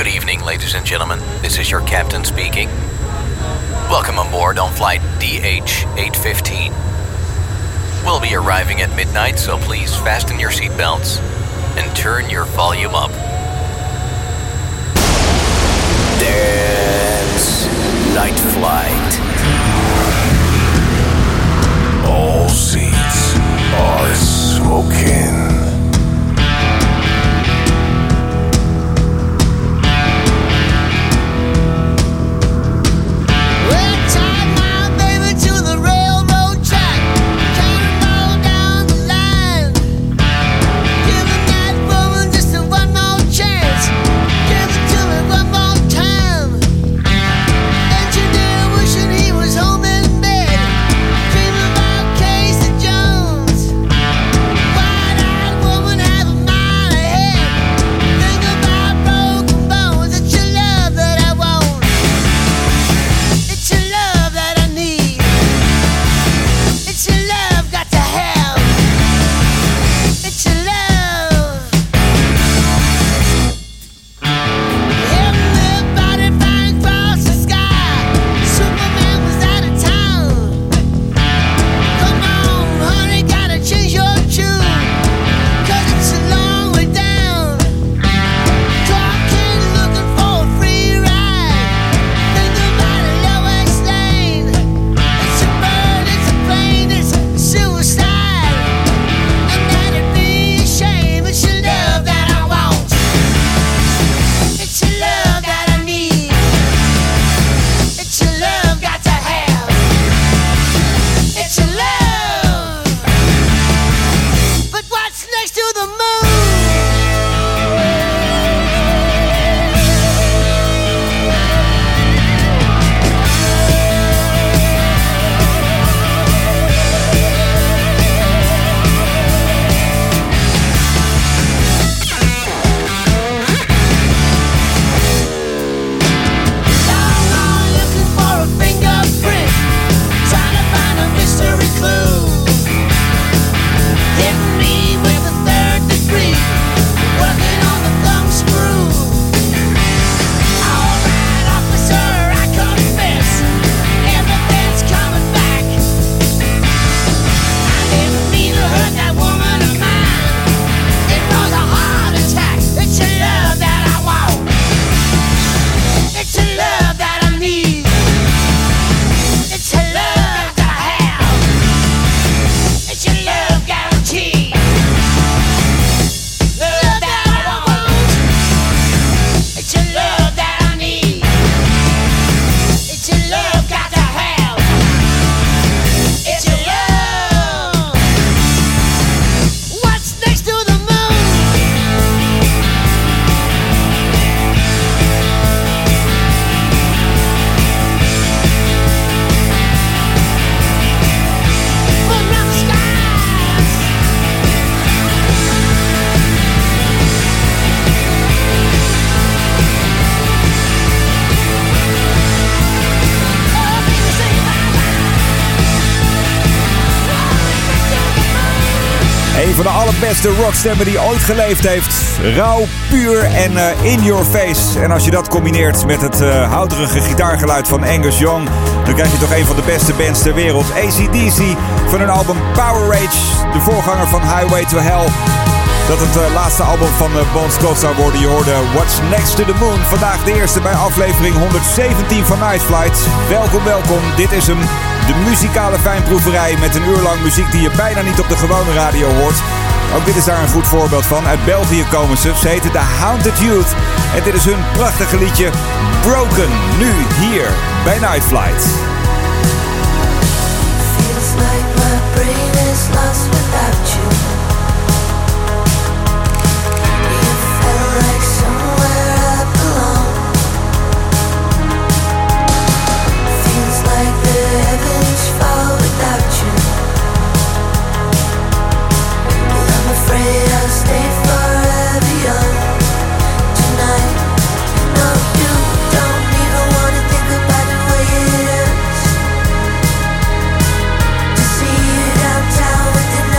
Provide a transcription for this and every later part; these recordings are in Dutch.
Good evening, ladies and gentlemen. This is your captain speaking. Welcome on board on flight DH-815. We'll be arriving at midnight, so please fasten your seatbelts and turn your volume up. Dance Night Flight. All seats are smoking. Een van de allerbeste rockstemmen die ooit geleefd heeft. Rauw, puur en in your face. En als je dat combineert met het houterige gitaargeluid van Angus Young, dan krijg je toch een van de beste bands ter wereld. AC/DC van hun album Power Rage, de voorganger van Highway to Hell. Dat het laatste album van Bon Scott zou worden. Je hoorde What's Next to the Moon. Vandaag de eerste bij aflevering 117 van Night Flight. Welkom, welkom. Dit is hem. De muzikale fijnproeverij met een uur lang muziek die je bijna niet op de gewone radio hoort. Ook dit is daar een goed voorbeeld van. Uit België komen ze. Ze heten The Haunted Youth. En dit is hun prachtige liedje Broken. Nu hier bij Night Flight. Feels like my brain is lost without you. You felt like somewhere I belong. Feels like the heavens fall without you. And I'm afraid I'll stay forever young tonight. No, you don't even wanna think about the way it hurts to see you downtown with the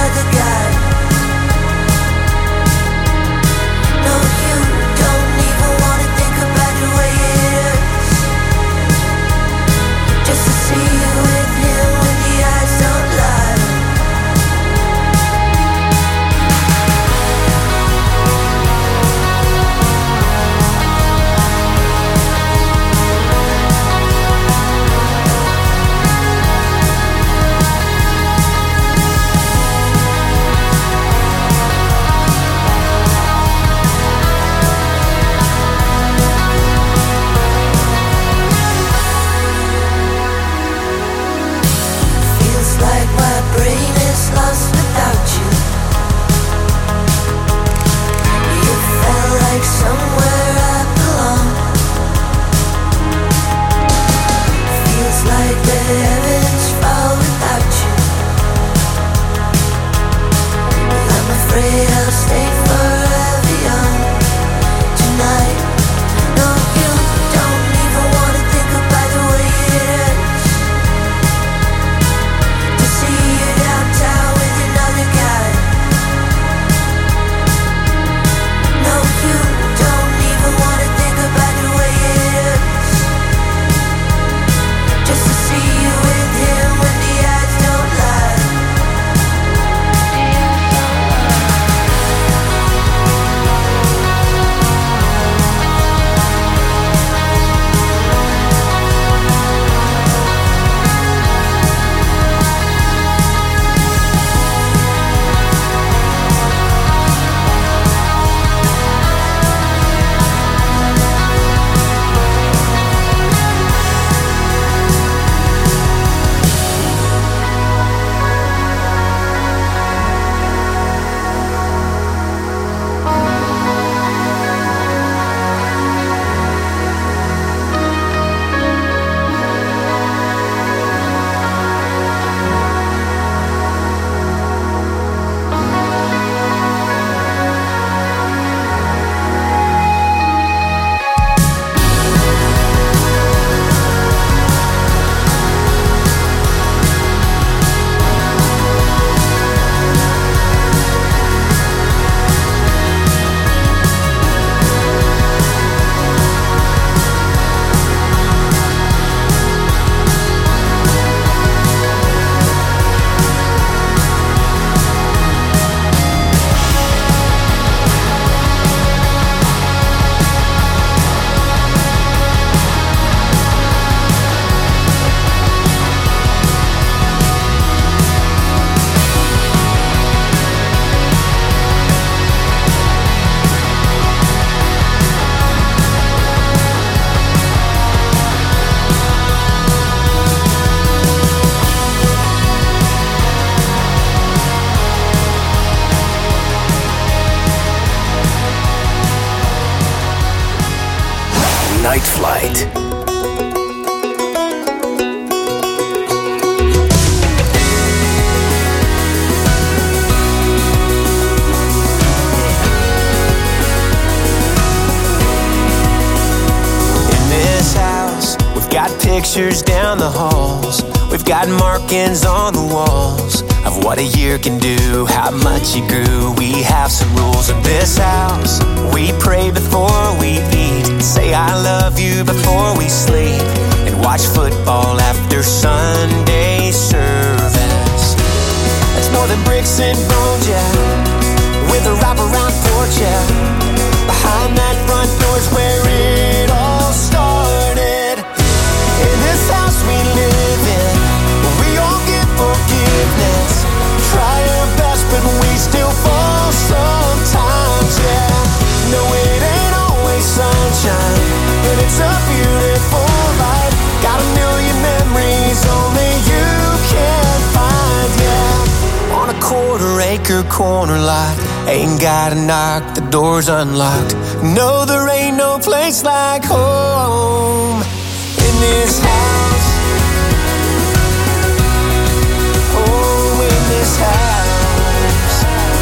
Night Flight. Got pictures down the halls. We've got markings on the walls of what a year can do, how much you grew. We have some rules in this house. We pray before we eat, say I love you before we sleep, and watch football after Sunday service. It's more than bricks and bones, yeah, with a wraparound porch, yeah. Behind that front door's where it all started. In this house we live in, we all give forgiveness. Try our best, but we still fall sometimes, yeah. No, it ain't always sunshine, but it's a beautiful life. Got a million memories only you can find, yeah. On a quarter-acre corner lot, ain't gotta knock, the door's unlocked. No, there ain't no place like home. In this house, oh, in this house,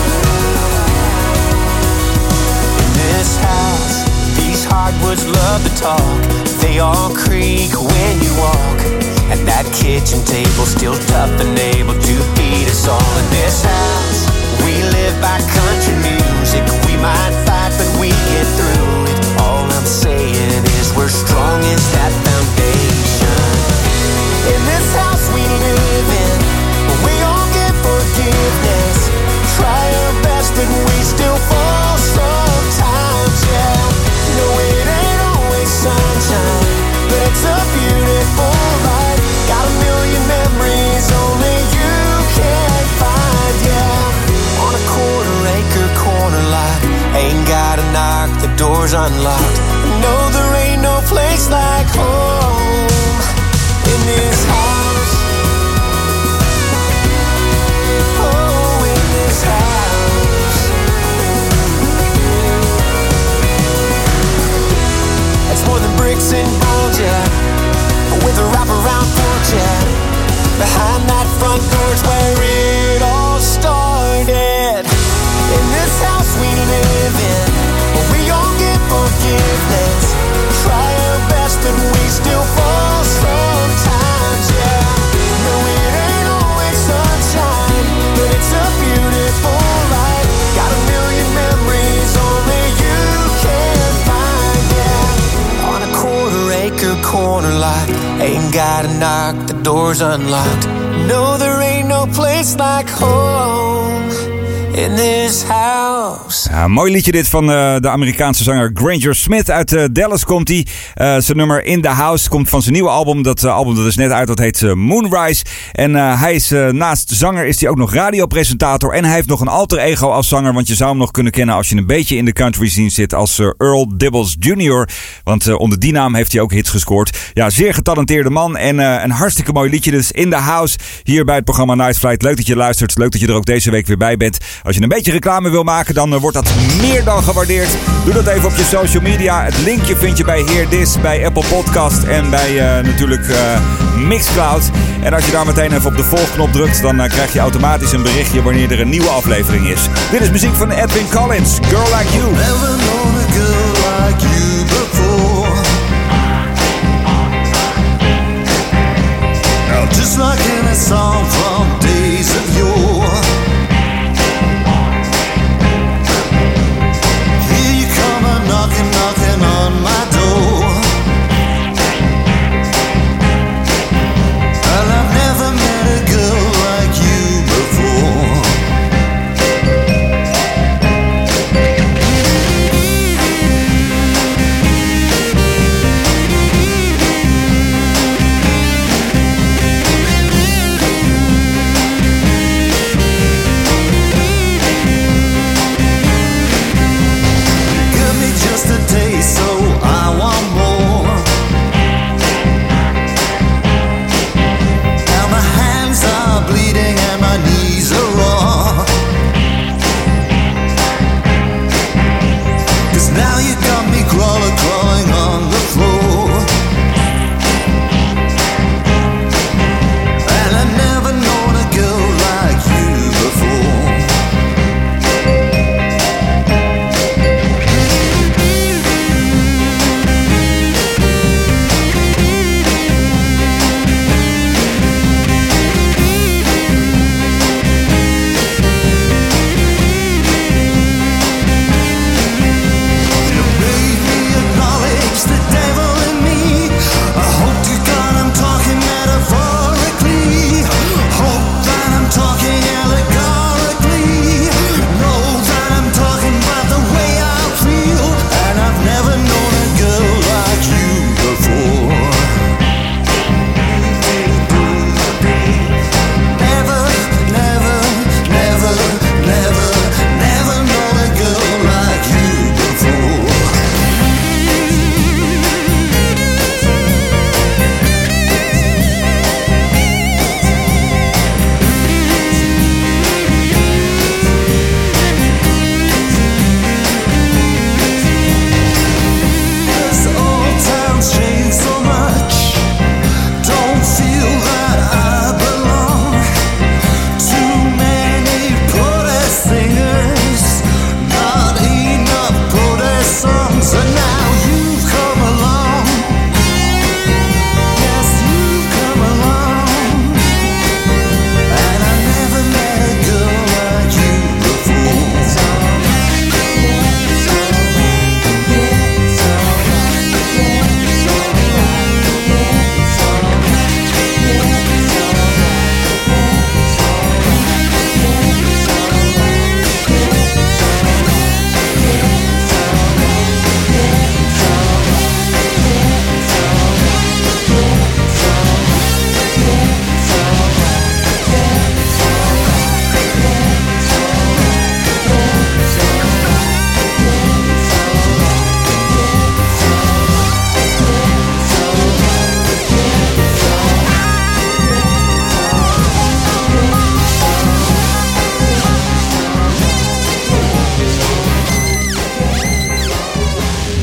in this house, these hardwoods love to talk. They all creak when you walk, and that kitchen table's still tough and able to feed us all. In this house, we live by country music. We might fight, but we get through it. All I'm saying is we're strong as that foundation. In this house we live in, we all give forgiveness. Try our best, but we still fall sometimes, yeah. No, it ain't always sunshine, but it's a beautiful life. Got a million memories only you can find, yeah. On a quarter-acre corner lot, ain't gotta knock, the door's unlocked. No, there ain't no place like home. In this house, oh, in this house. It's more than bricks and bones, yeah, with a wraparound porch, yeah. Behind that front door's where it all started. In this house we live in, we all give forgiveness. Try our best, but we still fall sometimes, yeah. No, it ain't always sunshine, but it's a beautiful life. Got a million memories only you can find, yeah. On a quarter-acre corner lot, ain't gotta knock, the door's unlocked. No, there ain't no place like home. In this house. Ja, mooi liedje dit van de Amerikaanse zanger Granger Smith. Uit Dallas komt hij. Zijn nummer In The House komt van zijn nieuwe album. Dat album dat is net uit, dat heet Moonrise. En hij is naast zanger is hij ook nog radiopresentator. En hij heeft nog een alter ego als zanger. Want je zou hem nog kunnen kennen als je een beetje in de country scene zit als Earl Dibbles Jr. Want onder die naam heeft hij ook hits gescoord. Ja, zeer getalenteerde man. En een hartstikke mooi liedje dus In The House. Hier bij het programma Night Flight. Leuk dat je luistert. Leuk dat je er ook deze week weer bij bent. Als je een beetje reclame wil maken, dan wordt dat meer dan gewaardeerd. Doe dat even op je social media. Het linkje vind je bij Hear This, bij Apple Podcast en bij natuurlijk Mixcloud. En als je daar meteen even op de volgknop drukt, dan krijg je automatisch een berichtje wanneer er een nieuwe aflevering is. Dit is muziek van Edwin Collins, Girl Like You. Never known a girl like you before. Now just like in a song from days of yore. Knocking on my door. Well, I've never met a girl like you before.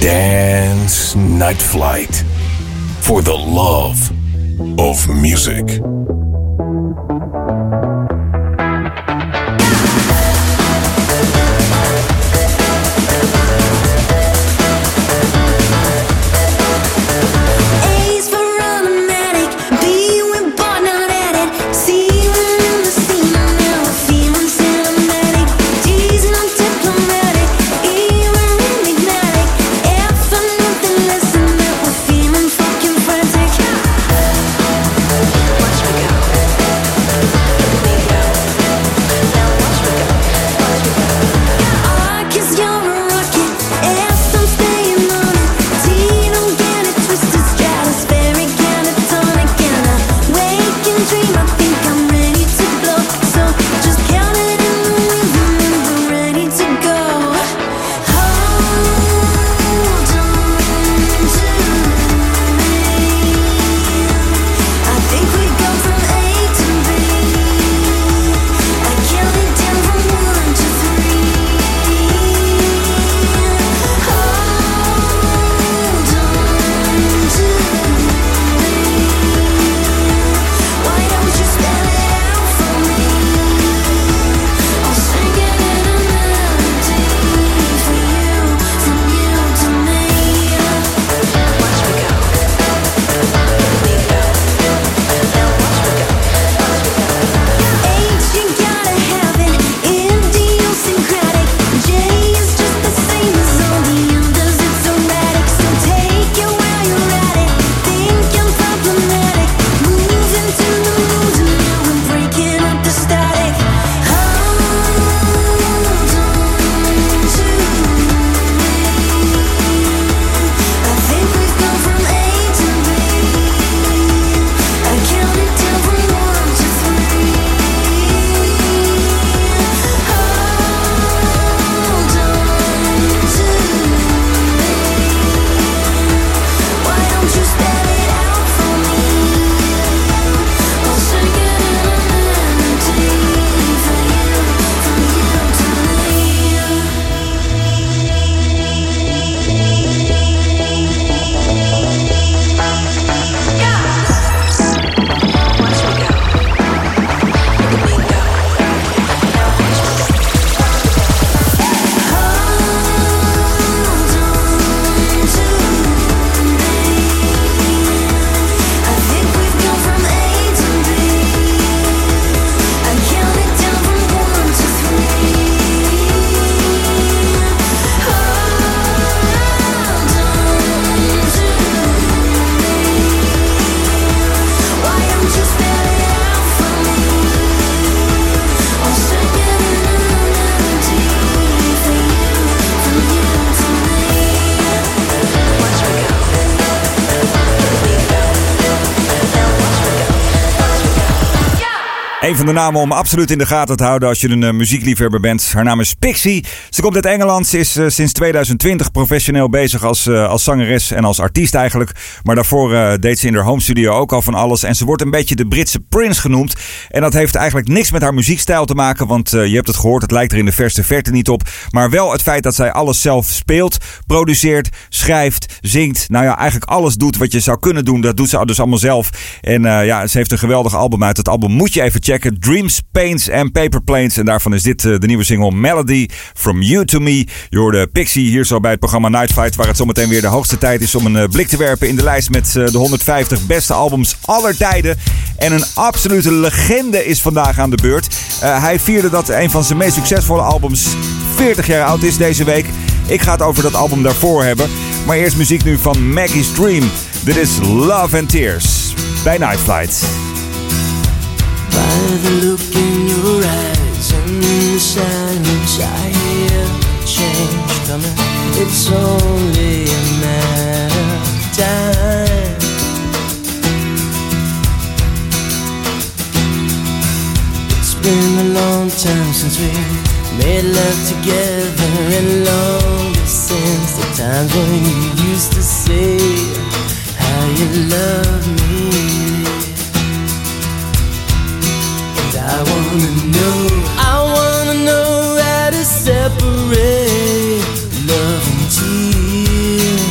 Dance Night Flight. For the love of music. Een van de namen om absoluut in de gaten te houden als je een muziekliefhebber bent. Haar naam is Pixie. Ze komt uit Engeland. Ze is sinds 2020 professioneel bezig als zangeres en als artiest eigenlijk. Maar daarvoor deed ze in haar home studio ook al van alles. En ze wordt een beetje de Britse Prince genoemd. En dat heeft eigenlijk niks met haar muziekstijl te maken. Want je hebt het gehoord, het lijkt er in de verste verte niet op. Maar wel het feit dat zij alles zelf speelt, produceert, schrijft, zingt. Nou ja, eigenlijk alles doet wat je zou kunnen doen. Dat doet ze dus allemaal zelf. En ze heeft een geweldig album uit. Het album moet je even checken. Dreams, Pains and Paper Planes. En daarvan is dit de nieuwe single Melody From You To Me. Je hoorde Pixie hier zo bij het programma Night Flight, waar het zometeen weer de hoogste tijd is om een blik te werpen in de lijst met de 150 beste albums aller tijden. En een absolute legende is vandaag aan de beurt. Hij vierde dat een van zijn meest succesvolle albums 40 jaar oud is deze week. Ik ga het over dat album daarvoor hebben. Maar eerst muziek nu van Maggie's Dream. Dit is Love and Tears bij Night Flight. By the look in your eyes and in the silence I hear change coming. It's only a matter of time. It's been a long time since we made love together, and longer since the times when you used to say how you love me. I wanna know how to separate love and tears.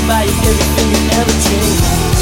buy you everything you ever dreamed.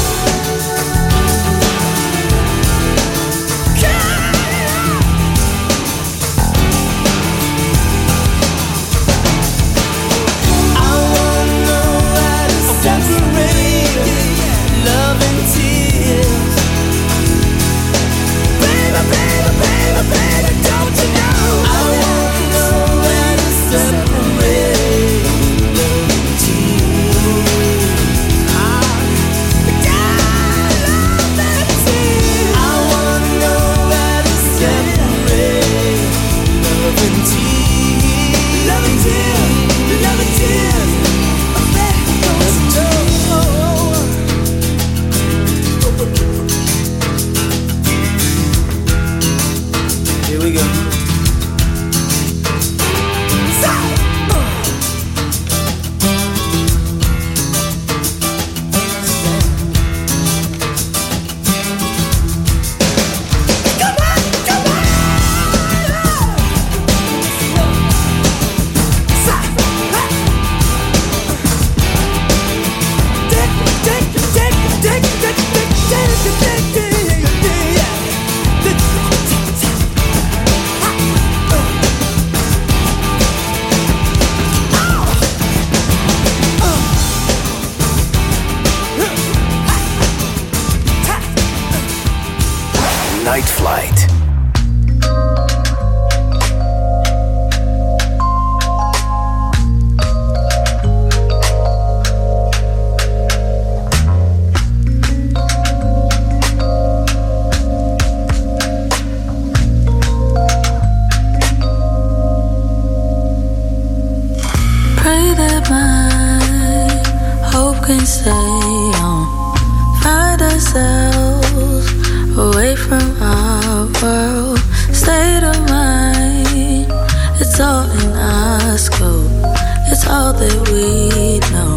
Night Flight. Pray that my hope can stay on. Find ourselves away from our world, state of mind. It's all in our scope. It's all that we know.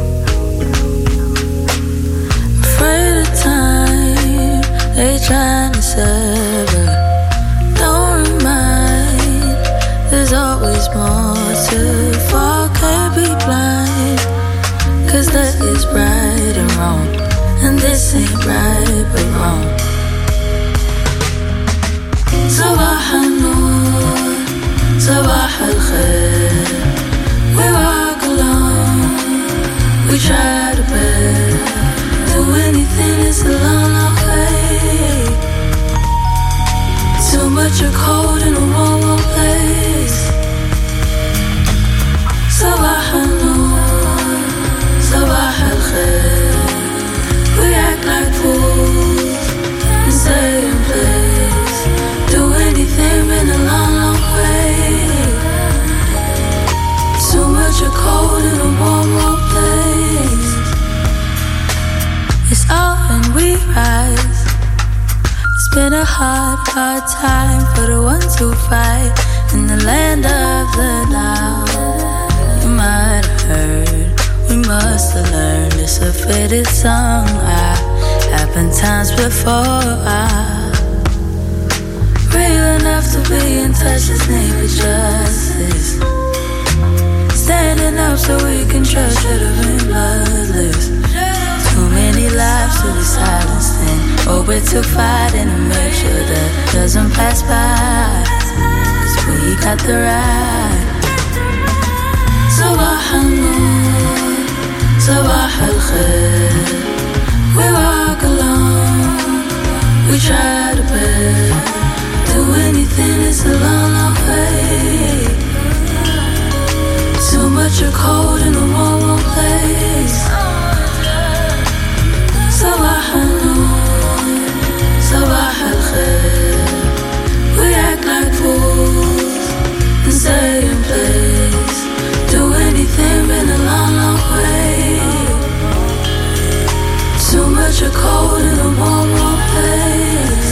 Afraid of time, they trying to sever. Don't remind, there's always more to fall. Can't be blind, 'cause that is right and wrong, and this ain't right but wrong. صباح النور صباح الخير. We walk alone, we try to bear. Do anything, it's a long, long way. Too much of cold in a warm, warm place. صباح النور صباح الخير. We act like fools and stay in place. Do anything in a long, long way. Too much of cold in a warm, warm place. It's all when we rise. It's been a hard, hard time for the ones who fight in the land of the now. You might have heard, we must have learned. It's a faded song. Happened times before. Real enough to be in touch, his name is justice. Standing up so we can trust, should have been bloodless. Too many lives to be silenced in. Oh, we're too fighting to make sure that doesn't pass by. 'Cause we got the right. صباح النور صباح الخير. We walk alone, we try to bear. Do anything, it's a long, long way. Too much of cold in a warm, warm place. صباح النور صباح الخير. We act like fools and stay in place. Do anything in a long, long way. Too much of cold in a warm, warm place.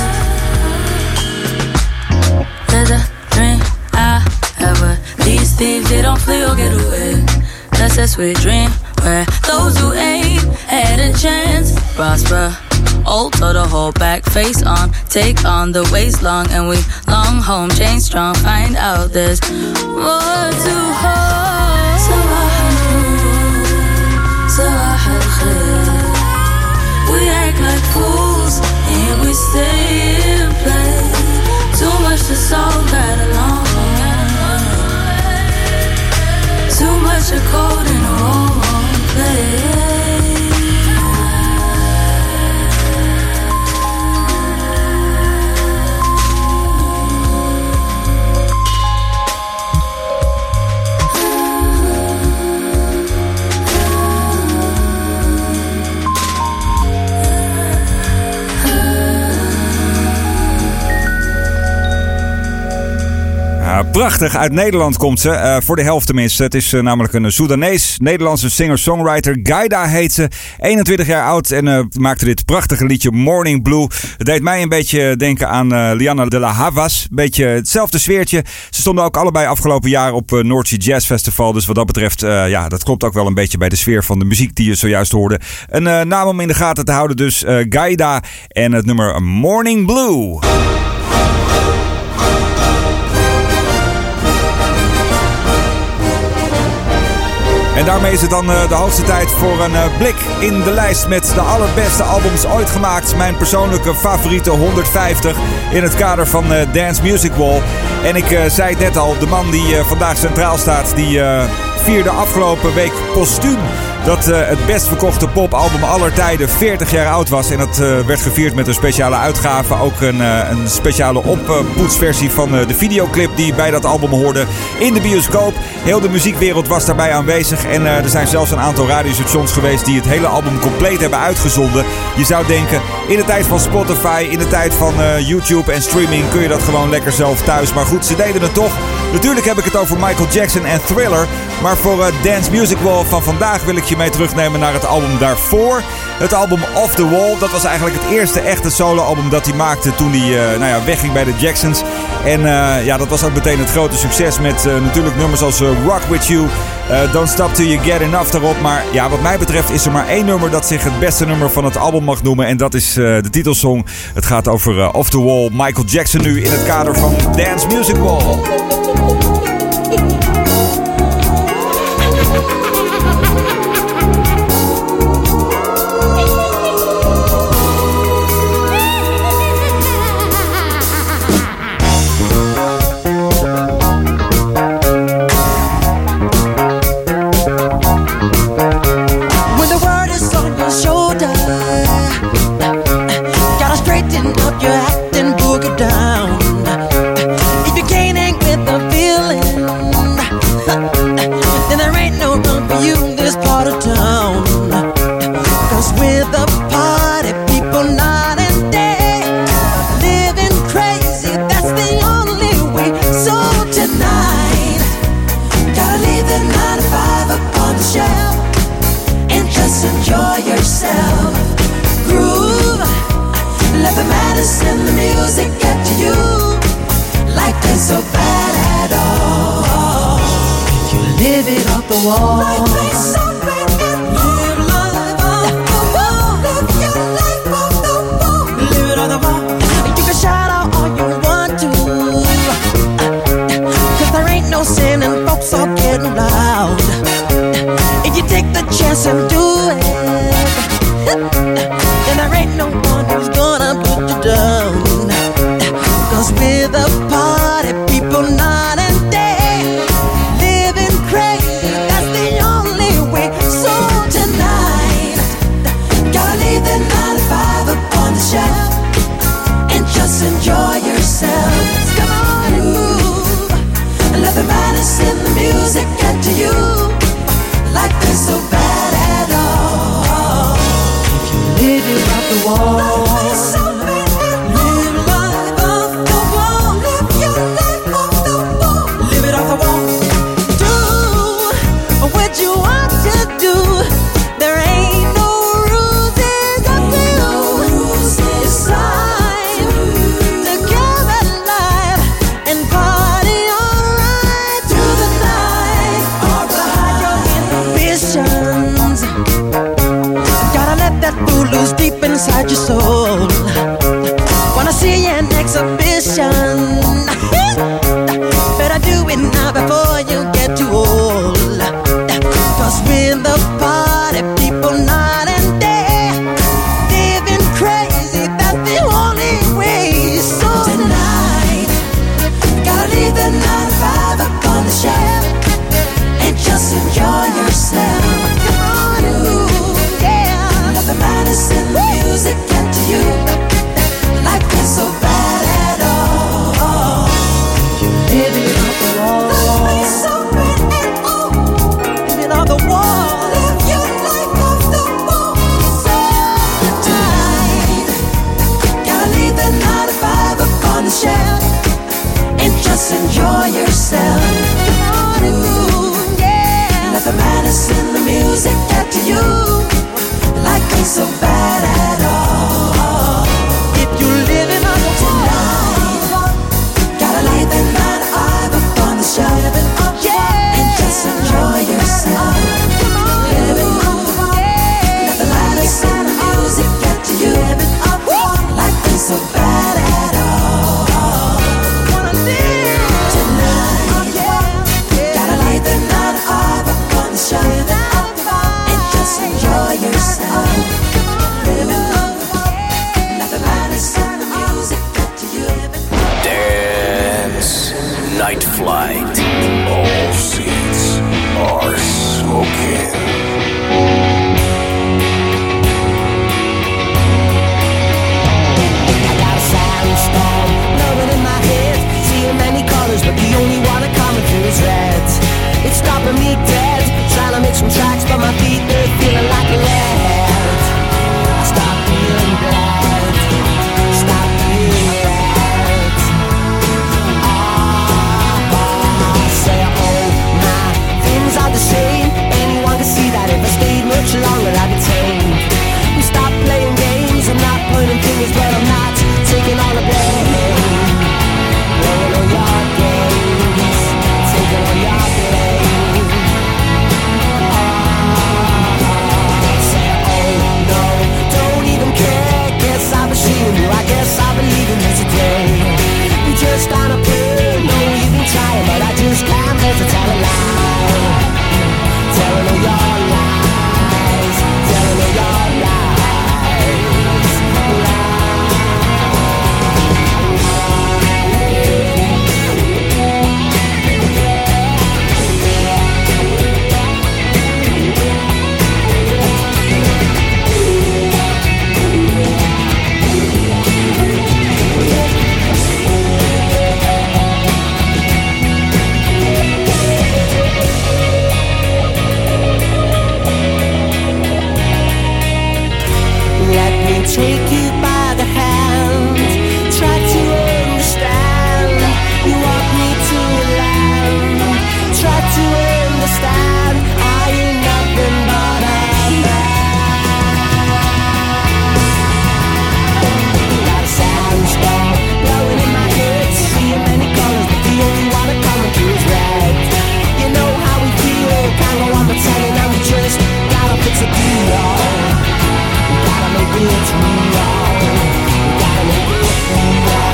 There's a dream I have where these thieves, they don't flee or get away. That's a sweet dream where those who aim had a chance prosper. Alter the whole back face on, take on the waist long, and we long home, chain strong. Find out there's more to hold. صباح النور صباح Ja, prachtig. Uit Nederland komt ze. Voor de helft tenminste. Het is namelijk een Soedanees-Nederlandse singer-songwriter. Gaida heet ze. 21 jaar oud en maakte dit prachtige liedje Morning Blue. Het deed mij een beetje denken aan Liana de la Havas. Beetje hetzelfde sfeertje. Ze stonden ook allebei afgelopen jaar op North Sea Jazz Festival. Dus wat dat betreft, dat klopt ook wel een beetje bij de sfeer van de muziek die je zojuist hoorde. Een naam om in de gaten te houden dus. Gaida en het nummer Morning Blue. En daarmee is het dan de hoogste tijd voor een blik in de lijst met de allerbeste albums ooit gemaakt. Mijn persoonlijke favoriete 150 in het kader van Dance Music Wall. En ik zei het net al, de man die vandaag centraal staat, die vierde afgelopen week postuum dat het best verkochte popalbum aller tijden 40 jaar oud was. En dat werd gevierd met een speciale uitgave. Ook een speciale oppoetsversie van de videoclip die bij dat album hoorde in de bioscoop. Heel de muziekwereld was daarbij aanwezig. En er zijn zelfs een aantal radiostations geweest die het hele album compleet hebben uitgezonden. Je zou denken, in de tijd van Spotify, in de tijd van YouTube en streaming kun je dat gewoon lekker zelf thuis. Maar goed, ze deden het toch. Natuurlijk heb ik het over Michael Jackson en Thriller. Maar voor Dance Music Wall van vandaag wil ik je mee terugnemen naar het album daarvoor. Het album Off The Wall. Dat was eigenlijk het eerste echte soloalbum dat hij maakte toen hij wegging bij de Jacksons. En dat was ook meteen het grote succes met natuurlijk nummers als Rock With You, Don't Stop Till You Get Enough daarop. Maar ja, wat mij betreft is er maar één nummer dat zich het beste nummer van het album mag noemen. En dat is de titelsong. Het gaat over Off The Wall. Michael Jackson nu in het kader van Dance Music Wall. Living on the wall. Live your life off the music get to you? Life ain't so bad at all. If you're living on tonight, gotta light that 9 to 5 up on the shelf, and just enjoy yourself. Living on let the lights and the music get to you. Life ain't so bad at all. Tonight, gotta light that 9 to 5 up on the shelf, and just enjoy yourself. Living on let the lights and the music get to you. Dance Night Flight. All seats are smoking. Storm blowing in my head, seeing many colors, but the only one that coming through is red. It's stopping me dead, trying to make some tracks, but my feet they're feeling like lead. Stop feeling bad, stop feeling bad. Say oh my, things are the same. Anyone can see that if I stayed much longer I'd be tamed. We stop playing games, I'm not pointing fingers, but I'm not taking all the blame. Playing all your games, taking all your blame. Say oh no, don't even care. Guess I've been seeing you, I guess I believe in you today. You just on a pill, no you've been trying, but I just can't bear to tell a lie. Telling all your lies, telling all your lies. Take you by the hand, try to understand. You want me to land, try to understand. Are you nothing but a man? Got a sandstorm blowing in my head, seeing many colors, but the only one that coming through is red. You know how we feel, can't go on pretending, and we just gotta fix a deal. Gotta make it real. Gotta make it real.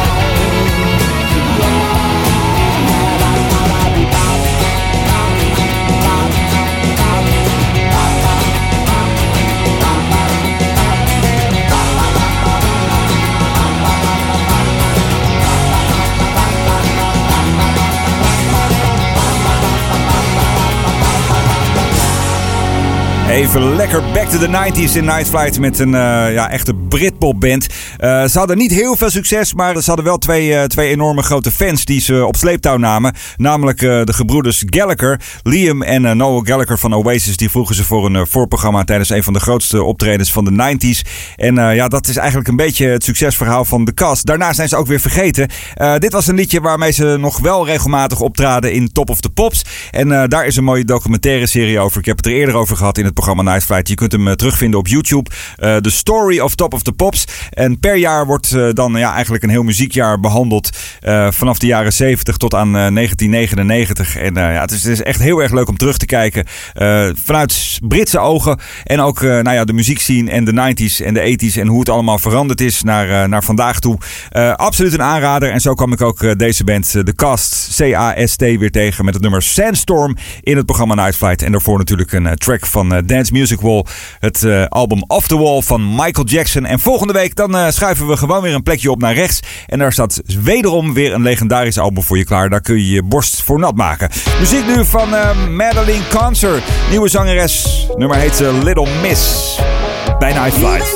Even lekker back to the 90s in Night Flight met een echte Britpop-band. Ze hadden niet heel veel succes, maar ze hadden wel twee enorme grote fans die ze op sleeptouw namen. Namelijk de gebroeders Gallagher, Liam en Noel Gallagher van Oasis. Die vroegen ze voor een voorprogramma tijdens een van de grootste optredens van de 90s. En dat is eigenlijk een beetje het succesverhaal van de cast. Daarna zijn ze ook weer vergeten. Dit was een liedje waarmee ze nog wel regelmatig optraden in Top of the Pops. En daar is een mooie documentaire serie over. Ik heb het er eerder over gehad in het programma Night Flight. Je kunt hem terugvinden op YouTube. The Story of Top of the Pops. En per jaar wordt dan eigenlijk een heel muziekjaar behandeld. Vanaf de jaren 70 tot aan 1999. En het is echt heel erg leuk om terug te kijken. Vanuit Britse ogen. En ook de muziekscene en de 90s en de 80s. En hoe het allemaal veranderd is naar vandaag toe. Absoluut een aanrader. En zo kwam ik ook deze band, de Cast, C-A-S-T, weer tegen met het nummer Sandstorm in het programma Night Flight. En daarvoor natuurlijk een track van Dance Music Wall. Het album Off the Wall van Michael Jackson. En volgende week dan schuiven we gewoon weer een plekje op naar rechts. En daar staat wederom weer een legendarisch album voor je klaar. Daar kun je je borst voor nat maken. Muziek nu van Madeline Concert. Nieuwe zangeres. Nummer heet Little Miss. Bij Night Flight.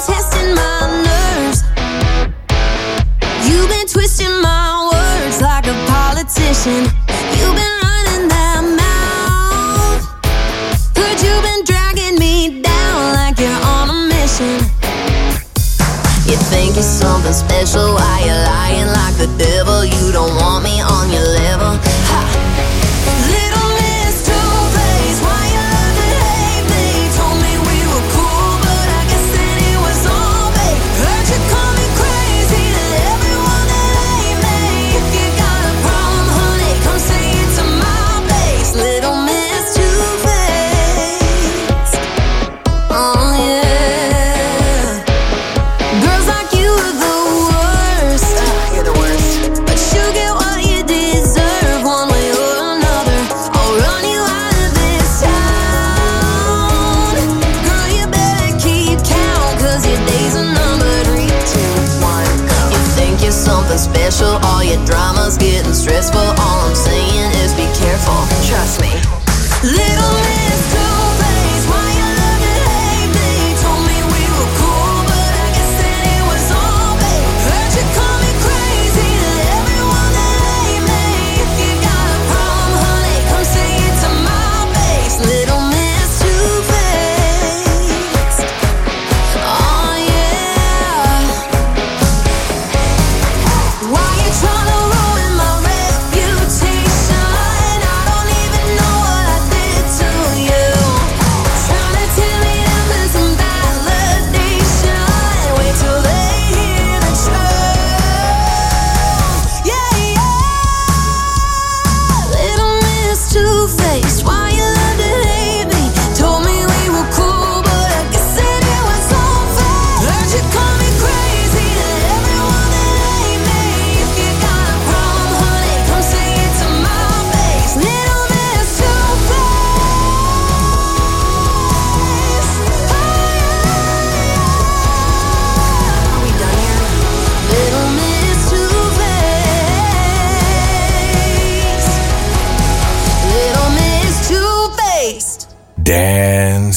You've been twisting my words like a politician. You've been running that mouth. Heard you've been dragging me down like you're on a mission. You think you're something special while you're lying like the devil. You don't want me on your level. Ha! Little miss, two place. Why you love to hate me?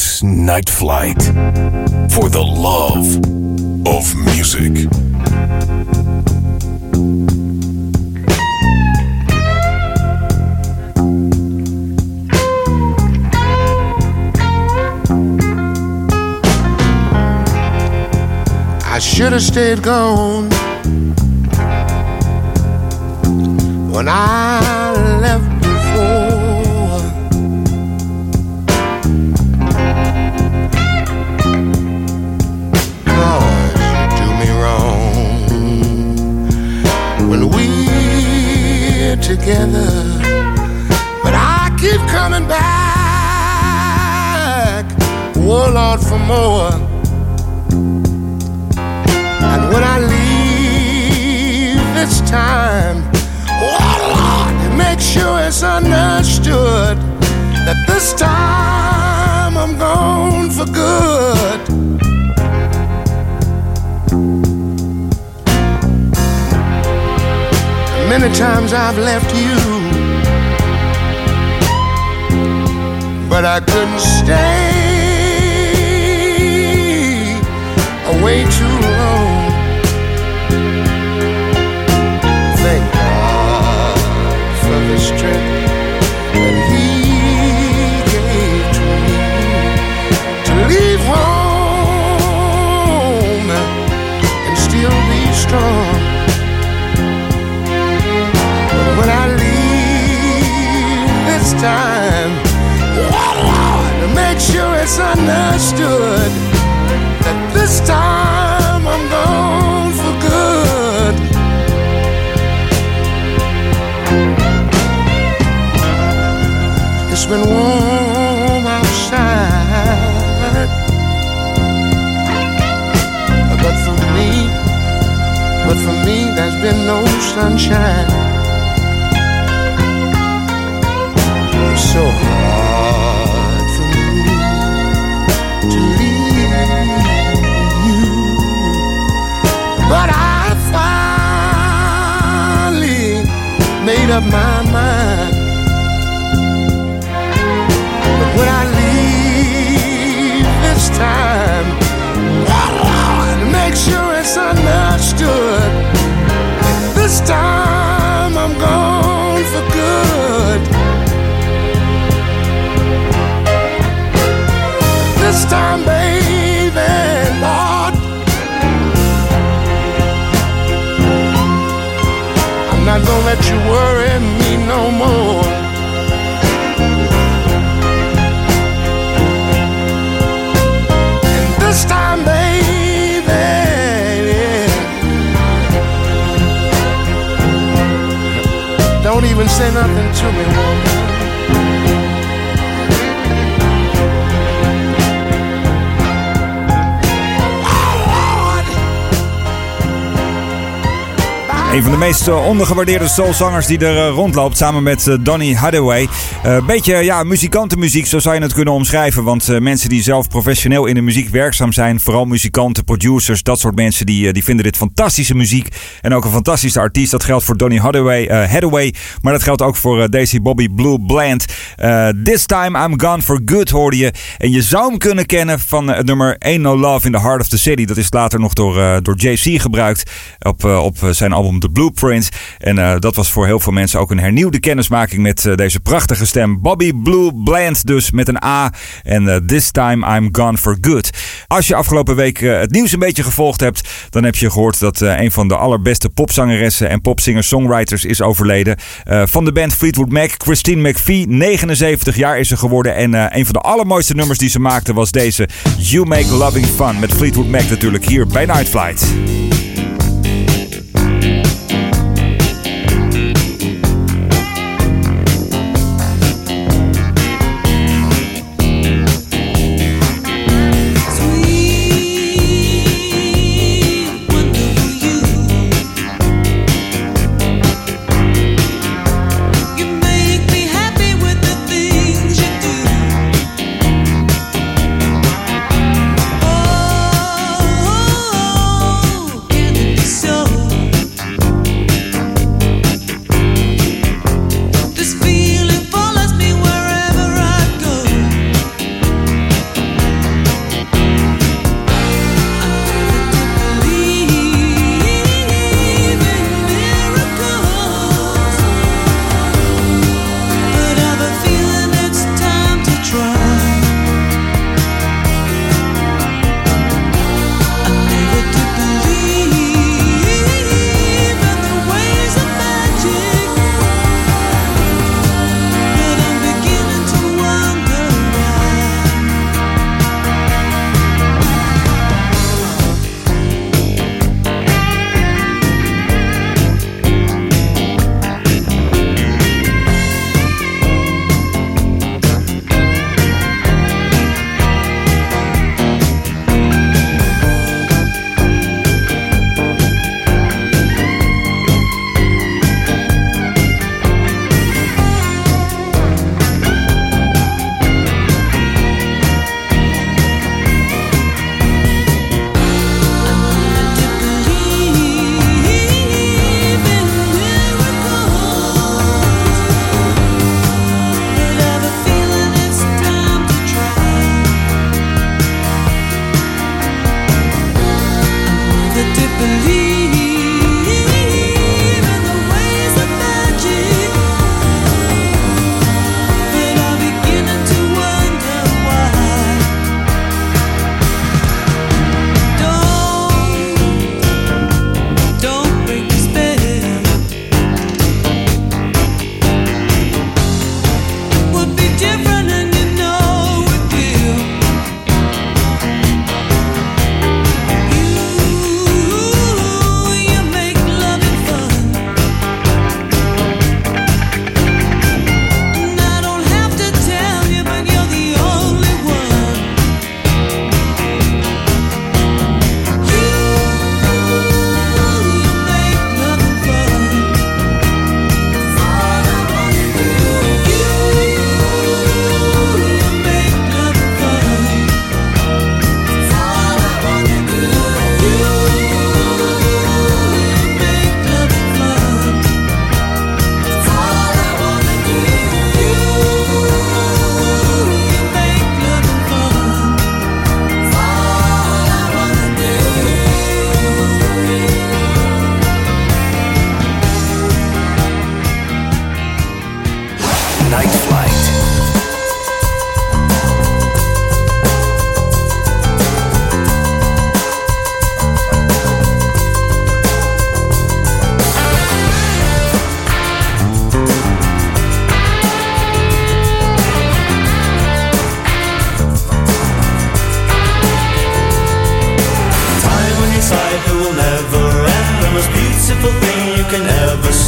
is Night Flight. For the love of music. I should have stayed gone when I left before. Lord, you do me wrong when we're together, but I keep coming back, oh Lord, for more. And when I leave this time, oh Lord, make sure it's understood that this time I'm gone for good. Many times I've left you, but I couldn't stay away too long. Thank God for the strength that He gave to me to leave home and still be strong. But when I leave this time, Lord, to make sure it's understood that this time I'm gone for good. It's been warm outside, but for me there's been no sunshine. It's so hard for me to leave you, but I finally made up my mind. But when I leave this time, Lord, make sure it's understood that this time I'm gone for good. This time, baby, Lord, I'm not gonna let you worry me no more. And this time, baby, don't even say nothing to me, woman. Een van de meest ondergewaardeerde soulzangers die er rondloopt, samen met Donny Hathaway. Beetje muzikantenmuziek, zo zou je het kunnen omschrijven. Want mensen die zelf professioneel in de muziek werkzaam zijn, vooral muzikanten, producers, dat soort mensen, die vinden dit fantastische muziek. En ook een fantastische artiest. Dat geldt voor Donny Hathaway, maar dat geldt ook voor Daisy Bobby Blue Bland. This Time I'm Gone for Good hoorde je. En je zou hem kunnen kennen van het nummer Ain't No Love in the Heart of the City. Dat is later nog door JC gebruikt op zijn album The Blueprint. En dat was voor heel veel mensen ook een hernieuwde kennismaking met deze prachtige stem. Bobby Blue Bland dus met een A. En This Time I'm Gone for Good. Als je afgelopen week het nieuws een beetje gevolgd hebt, dan heb je gehoord dat een van de allerbeste popzangeressen en popsinger-songwriters is overleden. Van de band Fleetwood Mac, Christine McVie. 79 jaar is ze geworden. En een van de allermooiste nummers die ze maakte was deze You Make Loving Fun. Met Fleetwood Mac natuurlijk hier bij Night Flight. Oh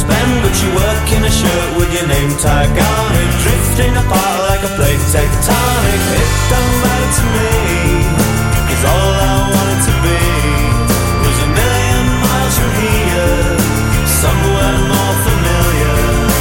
spend, but you work in a shirt with your name tag on it, drifting apart like a plate tectonic. It don't matter to me, 'cause all I wanted to be was a million miles from here, somewhere more familiar.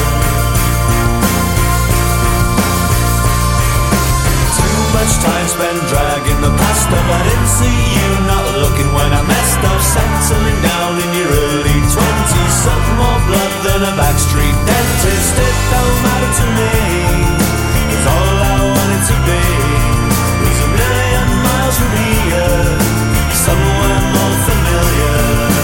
Too much time spent dragging the past up. I didn't see you not looking when I messed up, settling down in your early 20s, suck more blood than a backstreet dentist. It don't matter to me, 'cause all I wanted to be was a million miles from here, somewhere more familiar.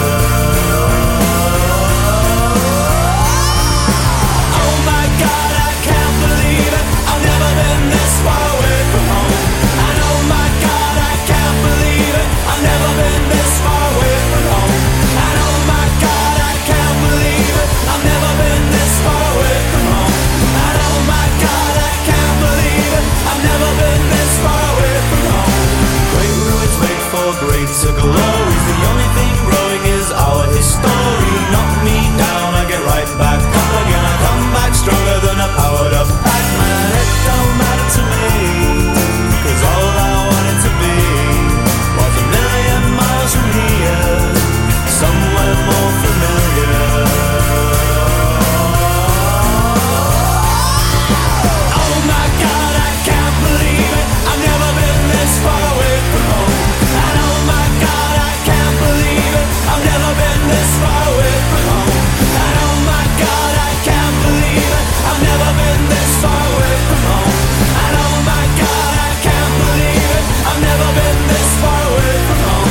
Oh my God, I can't believe it, I've never been this far away from home. And oh my God, I can't believe it, I've never been this far away from home. And oh my God, I can't believe it, I've never been this far away from home. And oh my God, I can't believe it, I've never been this far away from home. Great ruins wait for greater glories, the only thing growing is our history. Knock me down, I get right back up again, I come back stronger than a powered up Pac-Man. It don't matter to me, 'cause all I wanted to be was a million miles from here, somewhere more familiar. Oh my God, I can't believe it, I've never been this far away from home. And oh my God, I can't believe it, I've never been this far away from home. And oh my God, I can't believe it, I've never been this far away from home. And oh my God, I can't believe it, I've never been this far away from home.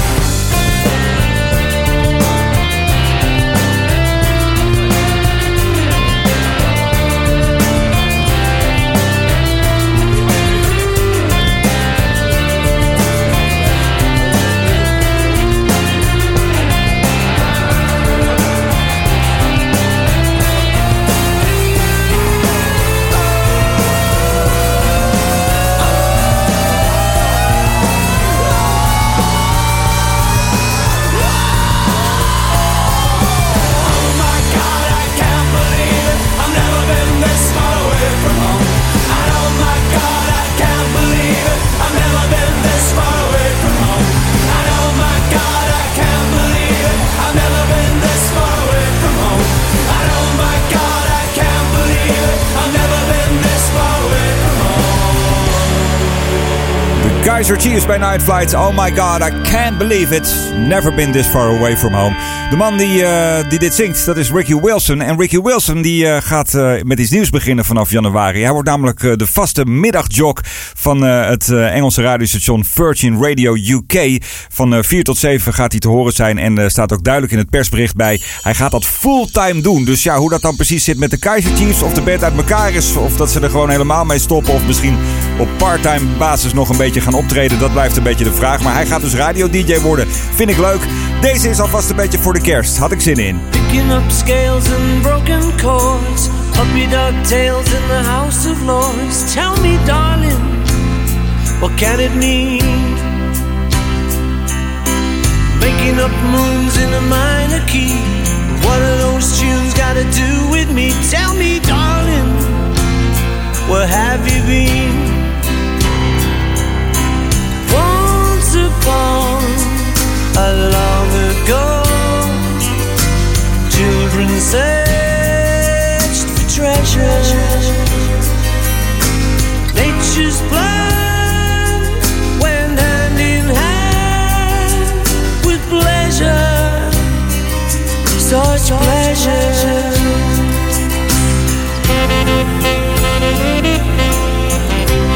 Kaiser Chiefs bij Night Flight. Oh my God, I can't believe it. Never been this far away from home. De man die dit zingt, dat is Ricky Wilson. En Ricky Wilson die gaat met iets nieuws beginnen vanaf januari. Hij wordt namelijk de vaste middagjock van het Engelse radiostation Virgin Radio UK. Van 4 tot 7 gaat hij te horen zijn. En staat ook duidelijk in het persbericht bij. Hij gaat dat fulltime doen. Dus ja, hoe dat dan precies zit met de Kaiser Chiefs. Of de band uit elkaar is. Of dat ze er gewoon helemaal mee stoppen. Of misschien op part-time basis nog een beetje gaan optreden. Dat blijft een beetje de vraag. Maar hij gaat dus radio-dj worden. Vind ik leuk. Deze is alvast een beetje voor de kerst. Had ik zin in. Picking up scales and broken chords. Puppy dog tails in the House of Lords. Tell me, darling, what can it mean? Making up moons in a minor key. What are those tunes got to do with me? Tell me, darling, where have you been? Once upon a long ago, children searched for treasure. Nature's plan went hand in hand with pleasure, such pleasure.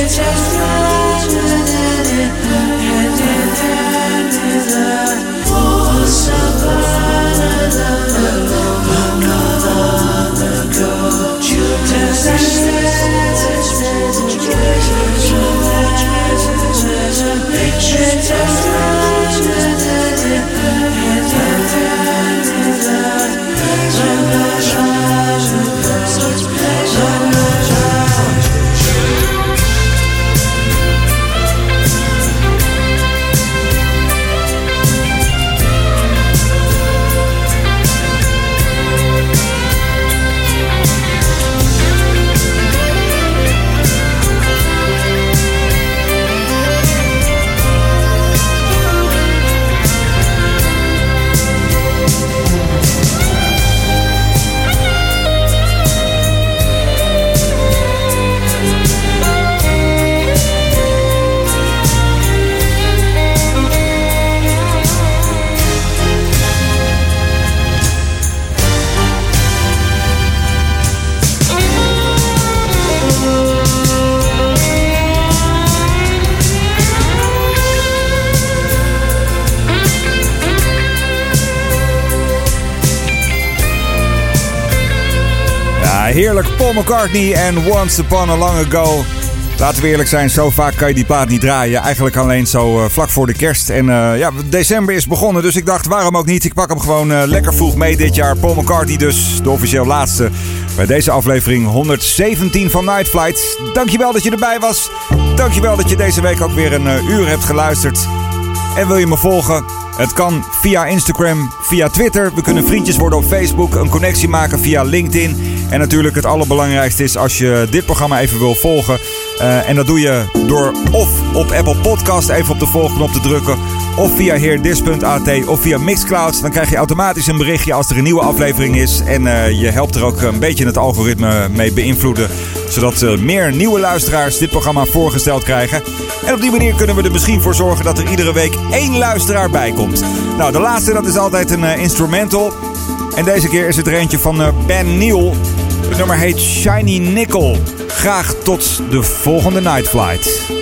Heerlijk, Paul McCartney en Once Upon a Long Ago. Laten we eerlijk zijn, zo vaak kan je die plaat niet draaien. Eigenlijk alleen zo vlak voor de kerst. En december is begonnen, dus ik dacht, waarom ook niet? Ik pak hem gewoon lekker vroeg mee dit jaar. Paul McCartney dus, de officieel laatste bij deze aflevering 117 van Night Flight. Dankjewel dat je erbij was. Dankjewel dat je deze week ook weer een uur hebt geluisterd. En wil je me volgen? Het kan via Instagram, via Twitter. We kunnen vriendjes worden op Facebook, een connectie maken via LinkedIn. En natuurlijk het allerbelangrijkste is als je dit programma even wil volgen. En dat doe je door of op Apple Podcast even op de volgknop te drukken. Of via heerdis.at of via Mixcloud. Dan krijg je automatisch een berichtje als er een nieuwe aflevering is. En je helpt er ook een beetje het algoritme mee beïnvloeden. Zodat meer nieuwe luisteraars dit programma voorgesteld krijgen. En op die manier kunnen we er misschien voor zorgen dat er iedere week 1 luisteraar bij komt. Nou, de laatste dat is altijd een instrumental. En deze keer is het er eentje van Ben Neal. Het nummer heet Shiny Nickel. Graag tot de volgende Night Flight.